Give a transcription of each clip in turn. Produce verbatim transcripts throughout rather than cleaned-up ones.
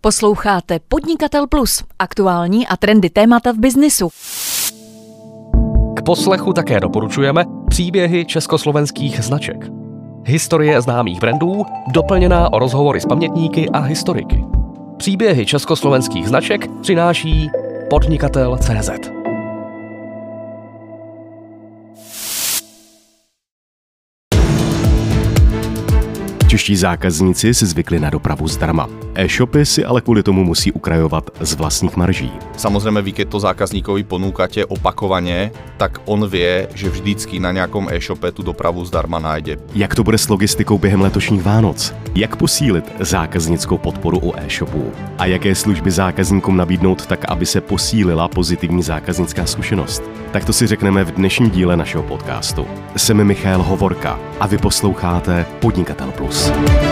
Posloucháte Podnikatel Plus, aktuální a trendy témata v biznisu. K poslechu také doporučujeme příběhy československých značek. Historie známých brandů, doplněná o rozhovory s pamětníky a historiky. Příběhy československých značek přináší Podnikatel tečka cé zet. Čeští zákazníci si zvykli na dopravu zdarma. E-shopy si ale kvôli tomu musí ukrajovat z vlastních marží. Samozrejme, vy keď to zákazníkovi ponúkate opakovane, tak on vie, že vždycky na nejakom e-shope tú dopravu zdarma nájde. Jak to bude s logistikou během letošních Vánoc? Jak posílit zákaznickou podporu u e-shopů? A jaké služby zákazníkům nabídnout tak, aby se posílila pozitivní zákaznická zkušenost? Tak to si řekneme v dnešním díle našeho podcastu. Jsem Michal Hovorka a vy posloucháte Podnikatel Plus.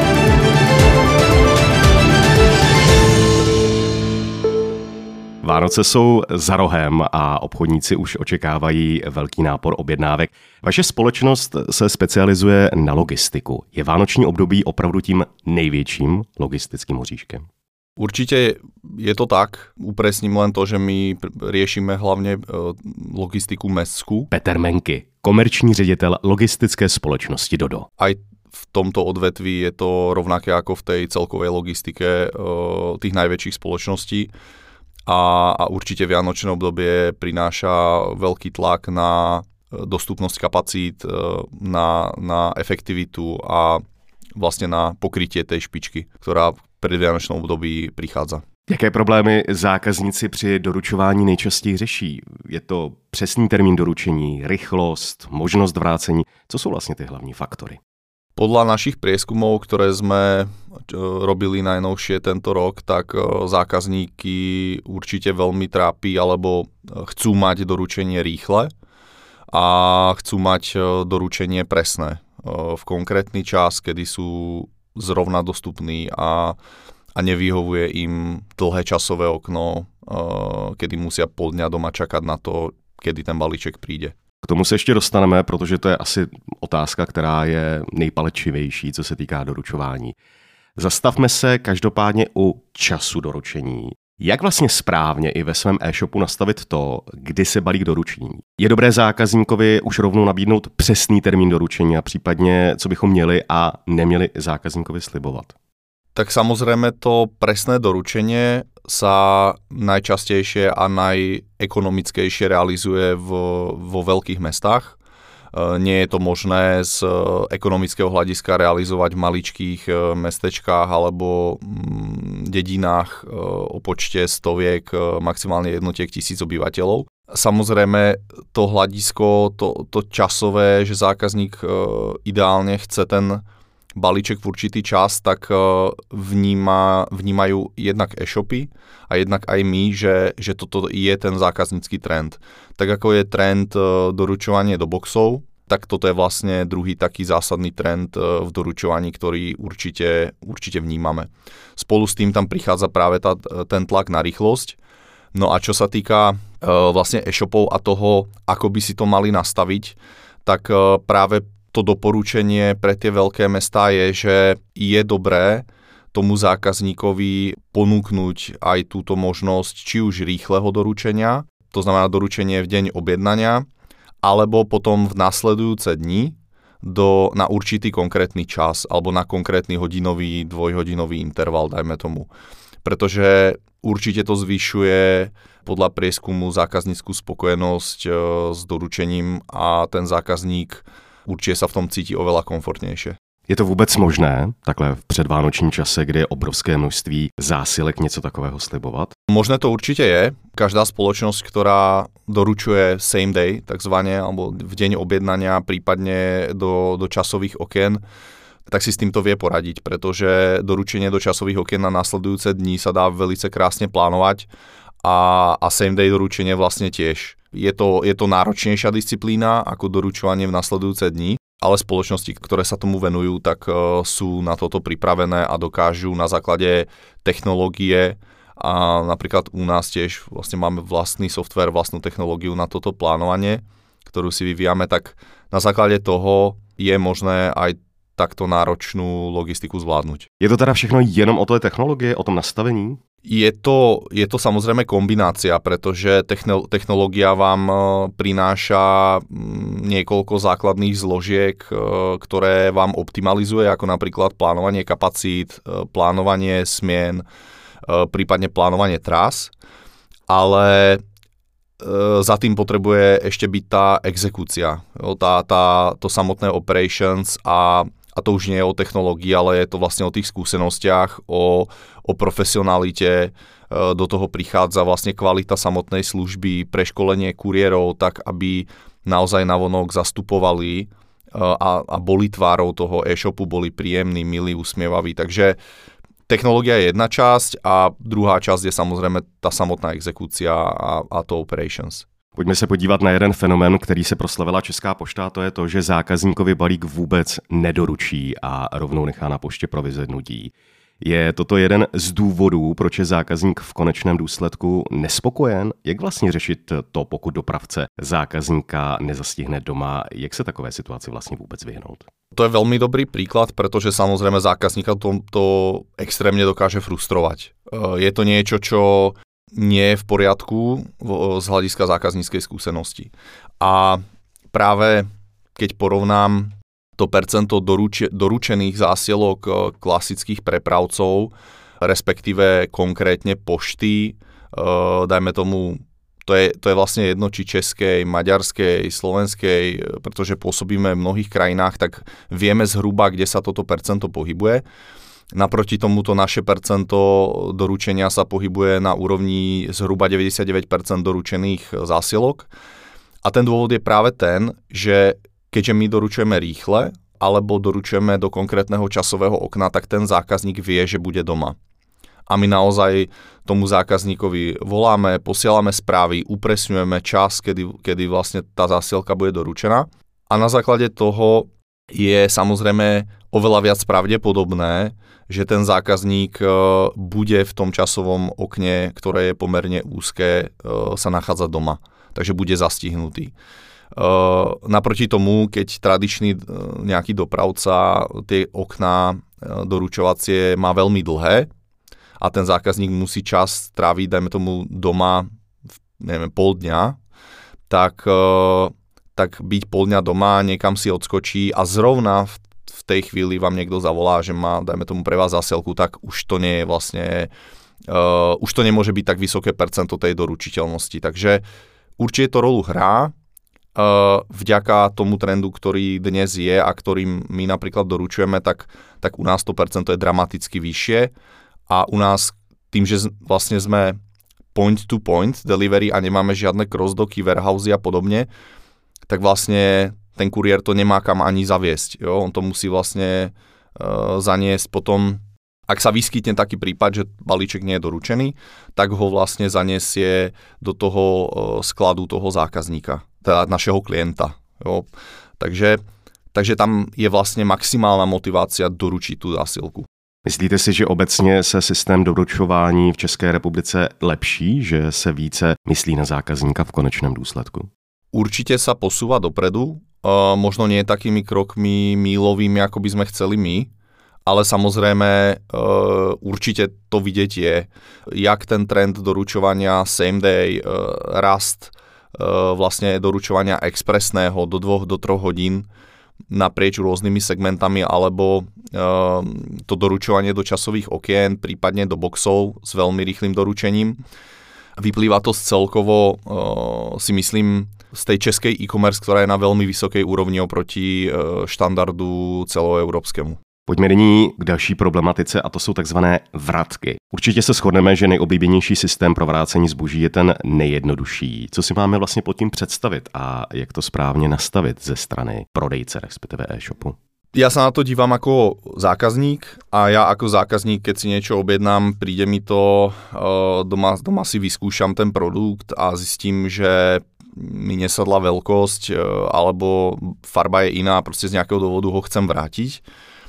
Vánoce jsou za rohem a obchodníci už očekávají velký nápor objednávek. Vaše společnost se specializuje na logistiku. Je vánoční období opravdu tím největším logistickým hoříškem? Určite je to tak. Upresním len to, že my riešime hlavne logistiku mestskú. Petr Menky, komerční ředitel logistické společnosti Dodo. Aj v tomto odvetví je to rovnaké ako v tej celkovej logistike tých najväčších spoločností. A, a určite vianočné obdobie prináša veľký tlak na dostupnosť kapacít, na, na efektivitu a vlastne na pokrytie tej špičky, ktorá v predvianočnom období prichádza. Jaké problémy zákazníci při doručování nejčastěji řeší? Je to přesný termín doručení, rychlost, možnost vrácení? Co jsou vlastně ty hlavní faktory? Podľa našich prieskumov, ktoré sme robili najnovšie tento rok, tak zákazníky určite veľmi trápi alebo chcú mať doručenie rýchle a chcú mať doručenie presné v konkrétny čas, kedy sú zrovna dostupní a, a nevyhovuje im dlhé časové okno, kedy musia pol dňa doma čakať na to, kedy ten balíček príde. K tomu se ještě dostaneme, protože to je asi otázka, která je nejpalčivější, co se týká doručování. Zastavme se každopádně u času doručení. Jak vlastně správně i ve svém e-shopu nastavit to, kdy se balík doručí? Je dobré zákazníkovi už rovnou nabídnout přesný termín doručení a případně, co bychom měli a neměli zákazníkovi slibovat? Tak samozrejme to presné doručenie sa najčastejšie a najekonomickejšie realizuje vo, vo veľkých mestách. Nie je to možné z ekonomického hľadiska realizovať v maličkých mestečkách alebo dedinách o počte stoviek, maximálne jednotiek tisíc obyvateľov. Samozrejme to hľadisko, to, to časové, že zákazník ideálne chce ten balíček v určitý čas, tak vníma, vnímajú jednak e-shopy a jednak aj my, že, že toto je ten zákaznícky trend. Tak ako je trend doručovanie do boxov, tak toto je vlastne druhý taký zásadný trend v doručovaní, ktorý určite, určite vnímame. Spolu s tým tam prichádza práve tá, ten tlak na rýchlosť. No a čo sa týka vlastne e-shopov a toho, ako by si to mali nastaviť, tak práve to doporučenie pre tie veľké mestá je, že je dobré tomu zákazníkovi ponúknuť aj túto možnosť či už rýchleho doručenia, to znamená doručenie v deň objednania, alebo potom v nasledujúce dni do, na určitý konkrétny čas alebo na konkrétny hodinový, dvojhodinový interval, dajme tomu. Pretože určite to zvyšuje podľa prieskumu zákazníckú spokojnosť e, s doručením a ten zákazník určitě sa v tom cítí oveľa komfortnějšie. Je to vůbec možné, takhle v předvánočním čase, kdy je obrovské množství zásilek, něco takového slibovat? Možné to určite je. Každá spoločnosť, ktorá doručuje same day, takzvané, alebo v deň objednania, prípadne do, do časových okien, tak si s týmto vie poradiť, pretože doručenie do časových okien na následujúce dní sa dá velice krásne plánovať a, a same day doručenie vlastne tiež. Je to, je to náročnejšia disciplína ako doručovanie v nasledujúce dni, ale spoločnosti, ktoré sa tomu venujú, tak uh, sú na toto pripravené a dokážu na základe technológie a napríklad u nás tiež vlastne máme vlastný software, vlastnú technológiu na toto plánovanie, ktorú si vyvíjame, tak na základe toho je možné aj takto náročnú logistiku zvládnuť. Je to teda všechno jenom o té technologie, o tom nastavení? Je to, je to samozrejme kombinácia, pretože technológia vám prináša niekoľko základných zložiek, ktoré vám optimalizuje, ako napríklad plánovanie kapacít, plánovanie smien, prípadne plánovanie trás, ale za tým potrebuje ešte byť tá exekúcia, tá, tá, to samotné operations a A to už nie je o technológii, ale je to vlastne o tých skúsenostiach, o, o profesionalite. Do toho prichádza vlastne kvalita samotnej služby, preškolenie kuriérov, tak aby naozaj navonok zastupovali a, a boli tvárou toho e-shopu, boli príjemní, milí, usmievaví. Takže technológia je jedna časť a druhá časť je samozrejme tá samotná exekúcia a, a to operations. Pojďme se podívat na jeden fenomén, který se proslavila Česká pošta, to je to, že zákazníkovi balík vůbec nedoručí a rovnou nechá na poště pro vyzvednutí. Je toto jeden z důvodů, proč je zákazník v konečném důsledku nespokojen? Jak vlastně řešit to, pokud dopravce zákazníka nezastihne doma? Jak se takové situaci vlastně vůbec vyhnout? To je veľmi dobrý príklad, pretože samozrejme zákazníka to, to extrémne dokáže frustrovať. Je to niečo, čo nie je v poriadku z hľadiska zákazníckej skúsenosti. A práve keď porovnám to percento doruče, doručených zásielok klasických prepravcov, respektíve konkrétne pošty, dajme tomu, to je, to je vlastne jedno či českej, maďarskej, slovenskej, pretože pôsobíme v mnohých krajinách, tak vieme zhruba, kde sa toto percento pohybuje. Naproti tomuto naše percento doručenia sa pohybuje na úrovni zhruba deväťdesiatdeväť percent doručených zásielok. A ten dôvod je práve ten, že keďže my doručujeme rýchle alebo doručujeme do konkrétneho časového okna, tak ten zákazník vie, že bude doma. A my naozaj tomu zákazníkovi voláme, posielame správy, upresňujeme čas, kedy, kedy vlastne tá zásielka bude doručená. A na základe toho je samozrejme oveľa viac pravdepodobné, že ten zákazník bude v tom časovom okne, ktoré je pomerne úzke, sa nachádza doma. Takže bude zastihnutý. Naproti tomu, keď tradičný nejaký dopravca tie okná doručovacie má veľmi dlhé a ten zákazník musí čas tráviť, dajme tomu doma, neviem, pol dňa, tak, tak byť pol dňa doma, niekam si odskočí a zrovna v v tej chvíli vám niekto zavolá, že má, dajme tomu, pre vás zásielku, tak už to nie je vlastne, uh, už to nemôže byť tak vysoké percento tej doručiteľnosti. Takže určite to rolu hrá, uh, vďaka tomu trendu, ktorý dnes je a ktorým my napríklad doručujeme, tak, tak u nás to percento je dramaticky vyššie a u nás tým, že vlastne sme point to point delivery a nemáme žiadne crossdocky, warehousey a podobne, tak vlastne ten kuriér to nemá kam ani zaviesť. Jo? On to musí vlastne uh, zaniesť potom, ak sa vyskytne taký prípad, že balíček nie je doručený, tak ho vlastne zaniesie do toho uh, skladu toho zákazníka, teda našeho klienta. Jo? Takže, takže tam je vlastne maximálna motivácia doručiť tú zásielku. Myslíte si, že obecně se systém doručování v České republice lepší, že se více myslí na zákazníka v konečném důsledku? Určite sa posúva dopredu, uh, možno nie takými krokmi mílovými, ako by sme chceli my, ale samozrejme uh, určite to vidieť je, jak ten trend doručovania same day, uh, rast uh, vlastne doručovania expresného do dvoch do troch hodín naprieč rôznymi segmentami, alebo uh, to doručovanie do časových okien, prípadne do boxov s veľmi rýchlym doručením. Vyplýva to z celkovo, uh, si myslím, z tej českej e-commerce, ktorá je na veľmi vysokej úrovni oproti štandardu celoeurópskemu. Pojďme nyní k další problematice a to jsou takzvané vratky. Určitě se shodneme, že nejoblíbenější systém pro vrácení zboží je ten nejjednodušší. Co si máme vlastně pod tím představit a jak to správně nastavit ze strany prodejce, respektive e-shopu? Ja sa na to dívam ako zákazník a ja ako zákazník, keď si niečo objednám, príde mi to, doma, doma si vyskúšam ten produkt a zistím, že mi nesadla veľkosť alebo farba je iná, proste z nejakého dôvodu ho chcem vrátiť,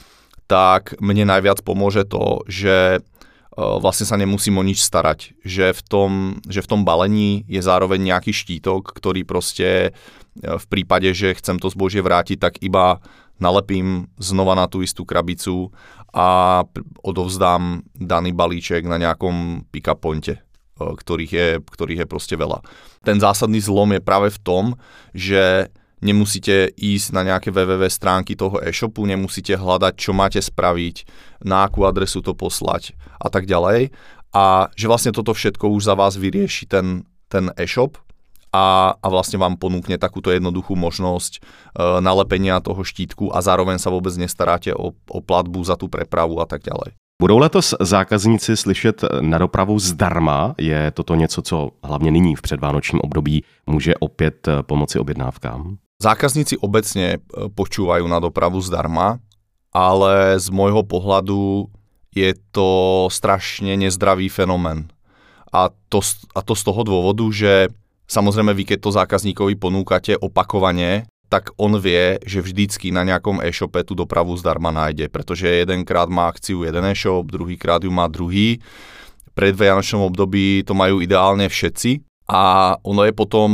tak mne najviac pomôže to, že vlastne sa nemusím o nič starať, že v tom, že v tom balení je zároveň nejaký štítok, ktorý proste v prípade, že chcem to zbožie vrátiť, tak iba nalepím znova na tú istú krabicu a odovzdám daný balíček na nejakom pick-up pointe, ktorých je, ktorých je proste veľa. Ten zásadný zlom je práve v tom, že nemusíte ísť na nejaké www stránky toho e-shopu, nemusíte hľadať, čo máte spraviť, na akú adresu to poslať a tak ďalej. A že vlastne toto všetko už za vás vyrieši ten, ten e-shop a, a vlastne vám ponúkne takúto jednoduchú možnosť e, nalepenia toho štítku a zároveň sa vôbec nestaráte o, o platbu za tú prepravu a tak ďalej. Budou letos zákazníci slyšet na dopravu zdarma? Je toto něco, co hlavně nyní v předvánočním období může opět pomoci objednávkám? Zákazníci obecne počúvajú na dopravu zdarma, ale z môjho pohľadu je to strašne nezdravý fenomén. A to, a to z toho dôvodu, že samozrejme vy, keď to zákazníkovi ponúkate opakovane, tak on vie, že vždycky na nejakom e-shope tú dopravu zdarma nájde, pretože jedenkrát má akciu jeden e-shop, druhýkrát ju má druhý. Pred vianočnom období to majú ideálne všetci a ono je potom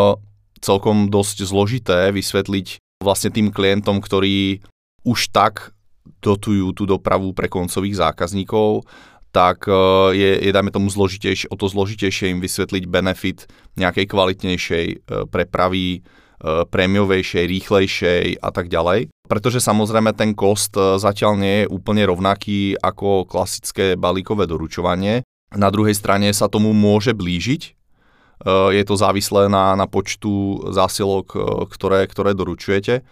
celkom dosť zložité vysvetliť vlastne tým klientom, ktorí už tak dotujú tú dopravu pre koncových zákazníkov, tak je, je dajme tomu zložitejšie, o to zložitejšie im vysvetliť benefit nejakej kvalitnejšej prepravy, prémiovejšej, rýchlejšej a tak ďalej. Pretože samozrejme ten cost zatiaľ nie je úplne rovnaký ako klasické balíkové doručovanie. Na druhej strane sa tomu môže blížiť. Je to závislé na, na počtu zásielok, ktoré, ktoré doručujete.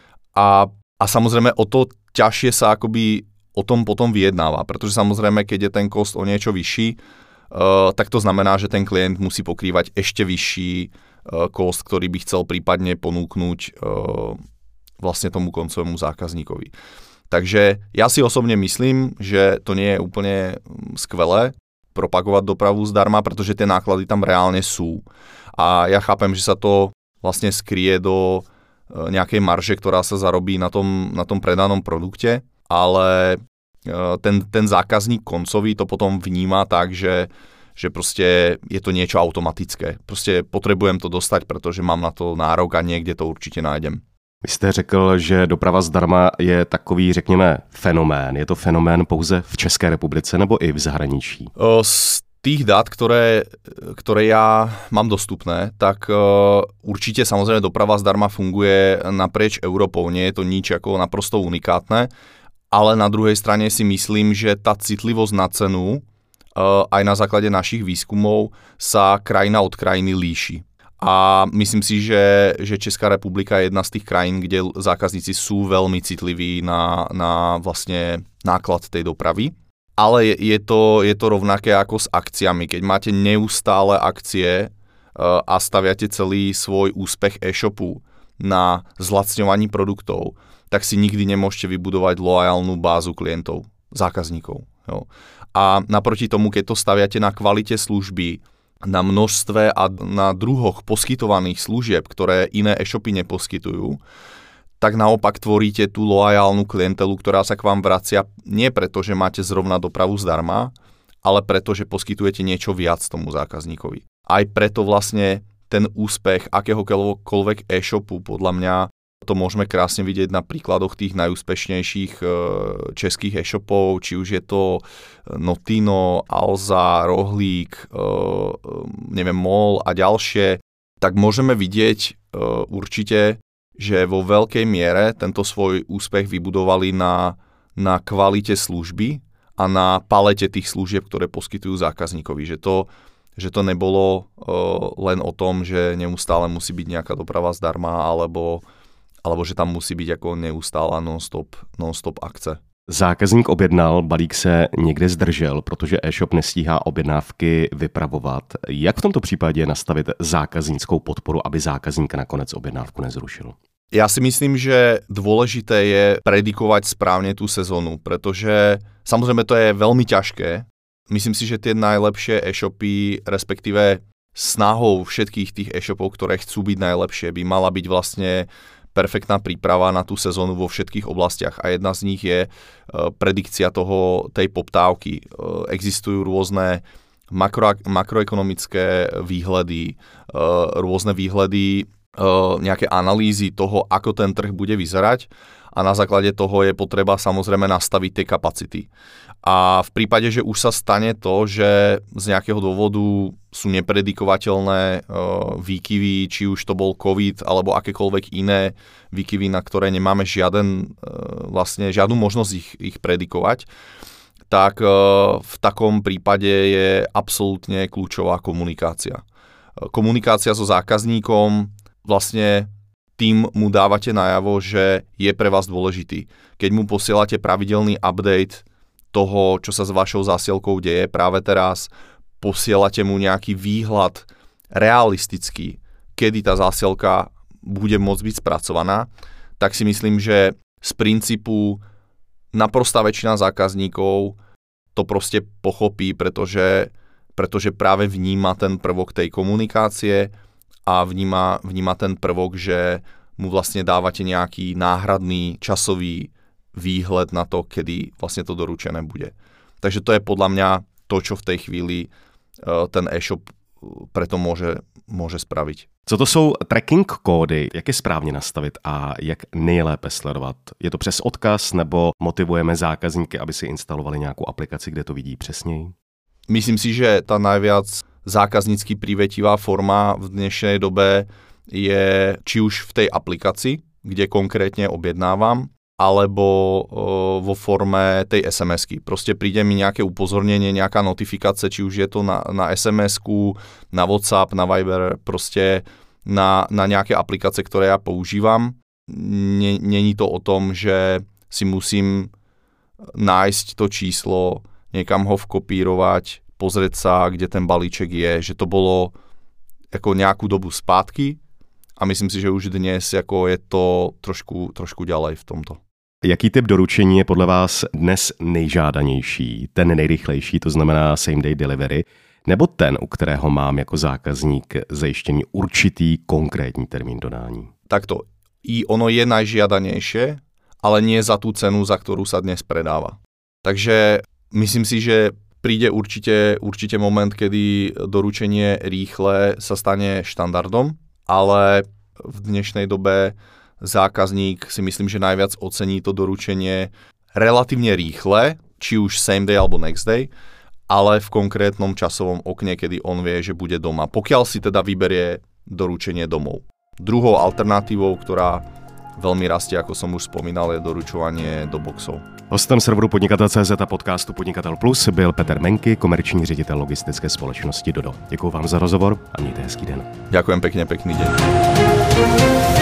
A, a samozrejme o to ťažšie sa akoby o tom potom vyjednáva, pretože samozrejme, keď je ten cost o niečo vyšší, uh, tak to znamená, že ten klient musí pokrývať ešte vyšší uh, cost, ktorý by chcel prípadne ponúknuť uh, vlastne tomu koncovému zákazníkovi. Takže ja si osobne myslím, že to nie je úplne skvelé propagovať dopravu zdarma, pretože tie náklady tam reálne sú. A ja chápem, že sa to vlastne skrie do nejakej marže, ktorá sa zarobí na tom, na tom predanom produkte, ale ten, ten zákazník koncový to potom vníma tak, že, že proste je to niečo automatické. Proste potrebujem to dostať, pretože mám na to nárok a niekde to určite nájdem. Vy jste řekl, že doprava zdarma je takový, řekněme, fenomén. Je to fenomén pouze v České republice nebo i v zahraničí? Z tých dát, ktoré, ktoré ja mám dostupné, tak určite samozrejme doprava zdarma funguje naprieč Európou. Nie je to nič ako naprosto unikátne, ale na druhej strane si myslím, že tá citlivosť na cenu aj na základe našich výskumov sa krajina od krajiny líši. A myslím si, že, že Česká republika je jedna z tých krajín, kde zákazníci sú veľmi citliví na, na vlastne náklad tej dopravy. Ale je, je, to, je to rovnaké ako s akciami. Keď máte neustále akcie uh, a staviate celý svoj úspech e-shopu na zlacňovaní produktov, tak si nikdy nemôžete vybudovať loajálnu bázu klientov, zákazníkov. Jo. A naproti tomu, keď to staviate na kvalite služby, na množstve a na druhoch poskytovaných služieb, ktoré iné e-shopy neposkytujú, tak naopak tvoríte tú loajálnu klientelu, ktorá sa k vám vracia nie preto, že máte zrovna dopravu zdarma, ale preto, že poskytujete niečo viac tomu zákazníkovi. Aj preto vlastne ten úspech akéhokoľvek e-shopu, podľa mňa, to môžeme krásne vidieť na príkladoch tých najúspešnejších českých e-shopov, či už je to Notino, Alza, Rohlík, neviem, MOL a ďalšie, tak môžeme vidieť určite, že vo veľkej miere tento svoj úspech vybudovali na, na kvalite služby a na palete tých služieb, ktoré poskytujú zákazníkovi. Že to, že to nebolo len o tom, že neustále musí byť nejaká doprava zdarma, alebo alebo že tam musí být jako neustála non-stop, non-stop akce. Zákazník objednal, balík se někde zdržel, protože e-shop nestíhá objednávky vypravovat. Jak v tomto případě nastavit zákazníckou podporu, aby zákazník nakonec objednávku nezrušil? Ja si myslím, že dôležité je predikovať správne tú sezónu, pretože samozrejme to je veľmi ťažké. Myslím si, že tie najlepšie e-shopy, respektíve snahou všetkých tých e-shopov, ktoré chcú byť najlepšie, by mala byť vlastne perfektná príprava na tú sezónu vo všetkých oblastiach a jedna z nich je predikcia toho, tej poptávky. Existujú rôzne makro, makroekonomické výhľady, rôzne výhľady, nejaké analýzy toho, ako ten trh bude vyzerať a na základe toho je potreba samozrejme nastaviť tie kapacity. A v prípade, že už sa stane to, že z nejakého dôvodu sú nepredikovateľné uh, výkyvy, či už to bol COVID alebo akékoľvek iné výkyvy, na ktoré nemáme žiaden, uh, vlastne žiadnu možnosť ich, ich predikovať, tak uh, v takom prípade je absolútne kľúčová komunikácia. Uh, komunikácia so zákazníkom, vlastne tým mu dávate najavo, že je pre vás dôležitý. Keď mu posielate pravidelný update toho, čo sa s vašou zásielkou deje práve teraz, posielate mu nejaký výhľad realistický, kedy tá zásielka bude môcť byť spracovaná, tak si myslím, že z princípu naprostá väčšina zákazníkov to proste pochopí, pretože, pretože práve vníma ten prvok tej komunikácie a vníma, vníma ten prvok, že mu vlastne dávate nejaký náhradný časový výhled na to, kedy vlastne to doručené bude. Takže to je podľa mňa to, čo v tej chvíli uh, ten e-shop preto môže, môže spraviť. Co to jsou tracking kódy? Jak je správně nastavit a jak nejlépe sledovat? Je to přes odkaz nebo motivujeme zákazníky, aby si instalovali nějakou aplikaci, kde to vidí přesněji? Myslím si, že tá najviac zákaznícky privetivá forma v dnešnej dobe je či už v tej aplikácii, kde konkrétne objednávam, alebo o, vo forme tej es em esky. Proste príde mi nejaké upozornenie, nejaká notifikácia, či už je to na, na es em esku, na WhatsApp, na Viber, proste na, na nejaké aplikácie, ktoré ja používam. Není to o tom, že si musím nájsť to číslo, niekam ho vkopírovať, pozrieť sa, kde ten balíček je, že to bolo ako nejakú dobu zpátky a myslím si, že už dnes ako je to trošku, trošku ďalej v tomto. Jaký typ doručení je podle vás dnes nejžádanější, ten nejrychlejší, to znamená same day delivery, nebo ten, u kterého mám jako zákazník zajištěný určitý konkrétní termín dodání? Takto, i ono je najžiadanejšie, ale nie za tú cenu, za ktorú sa dnes predáva. Takže myslím si, že príde určite, určite moment, kedy doručenie rýchle sa stane štandardom, ale v dnešnej dobe zákazník si myslím, že najviac ocení to doručenie relatívne rýchle, či už same day alebo next day, ale v konkrétnom časovom okne, kedy on vie, že bude doma. Pokiaľ si teda vyberie doručenie domov. Druhou alternatívou, ktorá veľmi rastie, ako som už spomínal, je doručovanie do boxov. Hostem serveru Podnikatel tečka cé zet a podcastu Podnikatel Plus byl Petr Menky, komerční ředitel logistické společnosti Dodo. Děkuji vám za rozhovor a mějte hezký den. Ďakujem pekne, pekný deň.